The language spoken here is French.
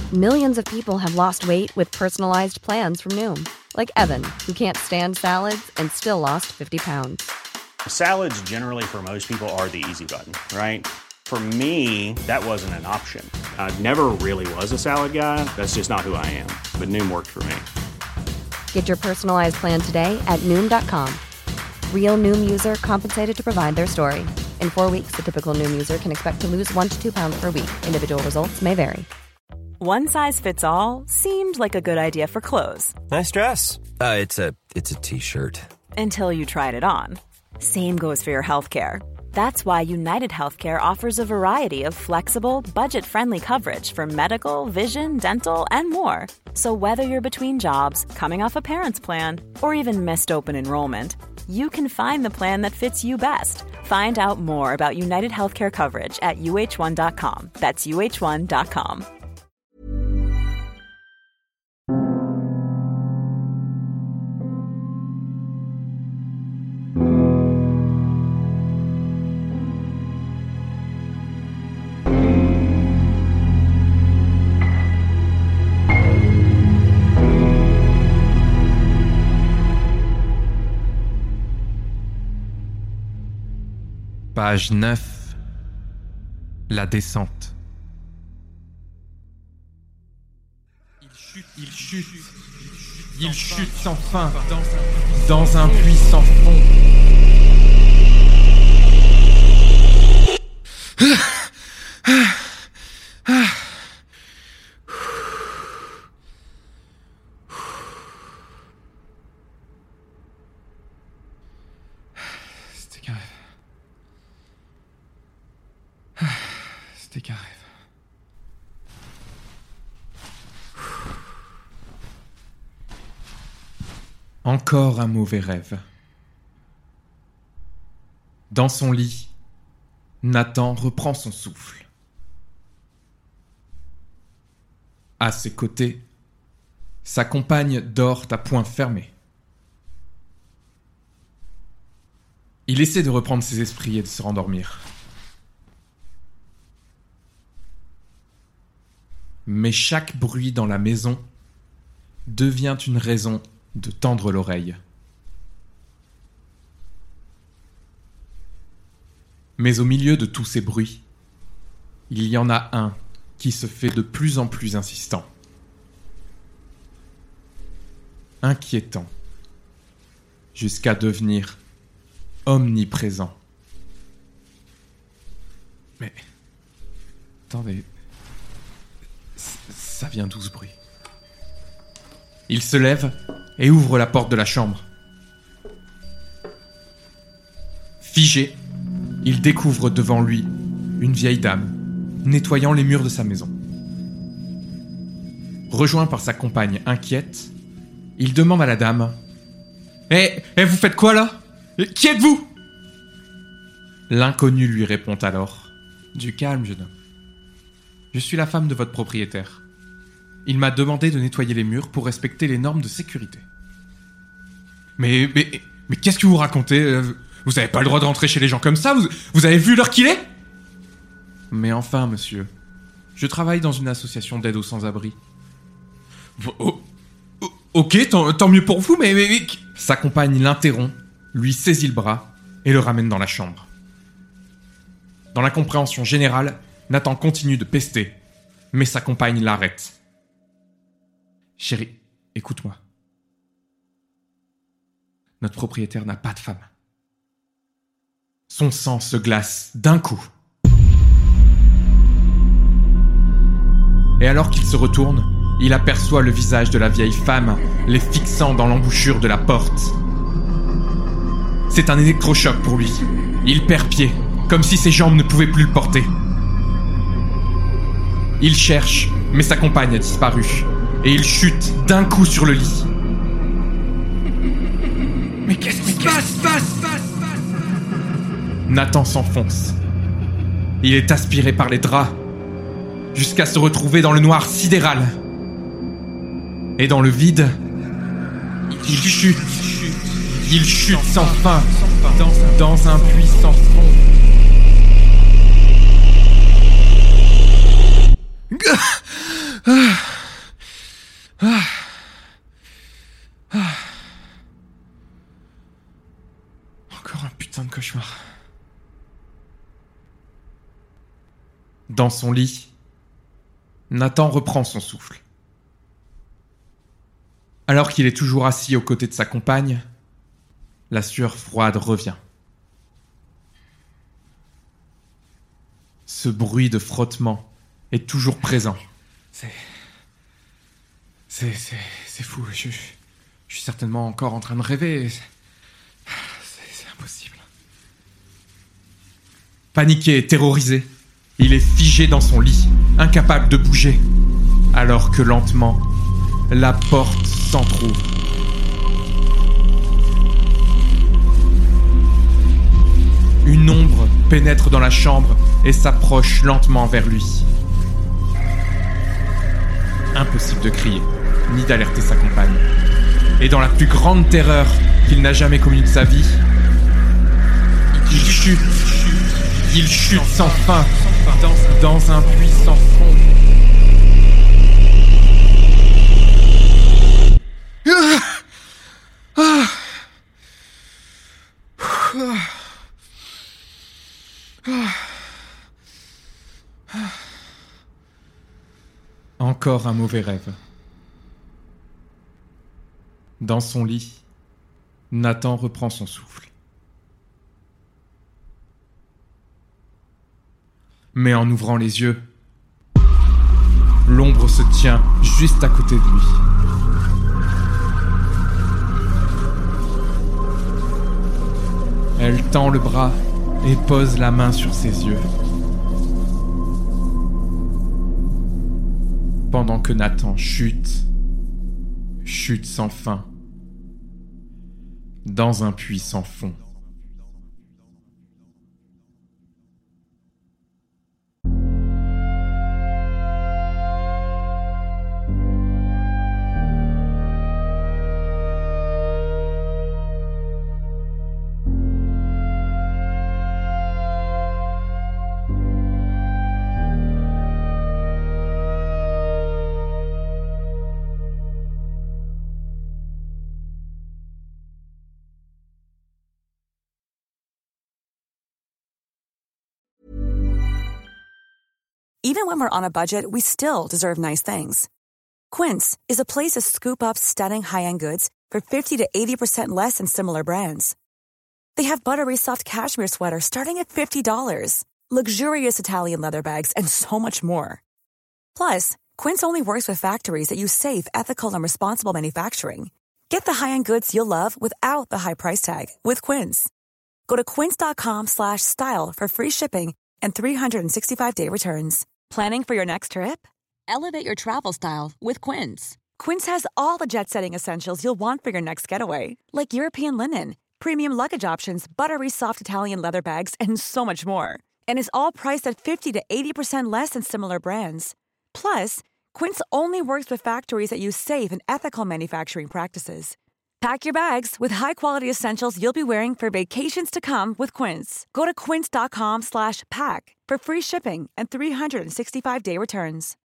Millions of people have lost weight with personalized plans from Noom. Like Evan, who can't stand salads and still lost 50 pounds. Salads generally for most people are the easy button, right? For me, that wasn't an option. I never really was a salad guy. That's just not who I am. But Noom worked for me. Get your personalized plan today at Noom.com. Real Noom user compensated to provide their story. In 4 weeks, the typical Noom user can expect to lose 1 to 2 pounds per week. Individual results may vary. One size fits all seemed like a good idea for clothes. Nice dress. It's a t-shirt. Until you tried it on. Same goes for your healthcare. That's why United Healthcare offers a variety of flexible, budget-friendly coverage for medical, vision, dental, and more. So whether you're between jobs, coming off a parent's plan, or even missed open enrollment, you can find the plan that fits you best. Find out more about United Healthcare coverage at uh1.com. That's uh1.com. Page 9. La descente. Il chute sans fin dans un puits sans fond. C'était grave. C'était carré. Encore un mauvais rêve. Dans son lit, Nathan reprend son souffle. À ses côtés, sa compagne dort à poings fermés. Il essaie de reprendre ses esprits et de se rendormir. Mais chaque bruit dans la maison devient une raison de tendre l'oreille. Mais au milieu de tous ces bruits, il y en a un qui se fait de plus en plus insistant. Inquiétant, jusqu'à devenir omniprésent. Mais... attendez... ça vient d'où ce bruit ? Il se lève et ouvre la porte de la chambre. Figé, il découvre devant lui une vieille dame nettoyant les murs de sa maison. Rejoint par sa compagne inquiète, il demande à la dame « vous faites quoi là ? Qui êtes-vous » L'inconnu lui répond alors « Du calme, jeune homme. Je suis la femme de votre propriétaire. Il m'a demandé de nettoyer les murs pour respecter les normes de sécurité. » Mais qu'est-ce que vous racontez ? Vous n'avez pas le droit de rentrer chez les gens comme ça ? Vous avez vu l'heure qu'il est ? Mais enfin, monsieur, je travaille dans une association d'aide aux sans-abri. Ok, tant mieux pour vous, mais... Sa compagne l'interrompt, lui saisit le bras et le ramène dans la chambre. Dans l'incompréhension générale, Nathan continue de pester, mais sa compagne l'arrête. « Chérie, écoute-moi. Notre propriétaire n'a pas de femme. » Son sang se glace d'un coup. Et alors qu'il se retourne, il aperçoit le visage de la vieille femme, les fixant dans l'embouchure de la porte. C'est un électrochoc pour lui. Il perd pied, comme si ses jambes ne pouvaient plus le porter. Il cherche, mais sa compagne a disparu, et il chute d'un coup sur le lit. Mais qu'est-ce qui se passe ? Nathan s'enfonce. Il est aspiré par les draps, jusqu'à se retrouver dans le noir sidéral. Et dans le vide, il chute sans fin, dans un puits sans fond. Encore un putain de cauchemar. Dans son lit, Nathan reprend son souffle. Alors qu'il est toujours assis aux côtés de sa compagne, la sueur froide revient. Ce bruit de frottement est toujours présent. C'est fou. Je suis certainement encore en train de rêver. C'est impossible. Paniqué et terrorisé, il est figé dans son lit, incapable de bouger, alors que lentement, la porte s'entrouvre. Une ombre pénètre dans la chambre et s'approche lentement vers lui. Impossible de crier, ni d'alerter sa compagne. Et dans la plus grande terreur qu'il n'a jamais connue de sa vie, il chute sans fin dans un puits sans fond. Encore un mauvais rêve. Dans son lit, Nathan reprend son souffle. Mais en ouvrant les yeux, l'ombre se tient juste à côté de lui. Elle tend le bras et pose la main sur ses yeux. Pendant que Nathan chute sans fin, dans un puits sans fond. Even when we're on a budget, we still deserve nice things. Quince is a place to scoop up stunning high-end goods for 50 to 80% less than similar brands. They have buttery soft cashmere sweaters starting at $50, luxurious Italian leather bags, and so much more. Plus, Quince only works with factories that use safe, ethical, and responsible manufacturing. Get the high-end goods you'll love without the high price tag with Quince. Go to quince.com/style for free shipping and 365-day returns. Planning for your next trip? Elevate your travel style with Quince. Quince has all the jet-setting essentials you'll want for your next getaway, like European linen, premium luggage options, buttery soft Italian leather bags, and so much more. And is all priced at 50 to 80% less than similar brands. Plus, Quince only works with factories that use safe and ethical manufacturing practices. Pack your bags with high-quality essentials you'll be wearing for vacations to come with Quince. Go to quince.com/pack for free shipping and 365-day returns.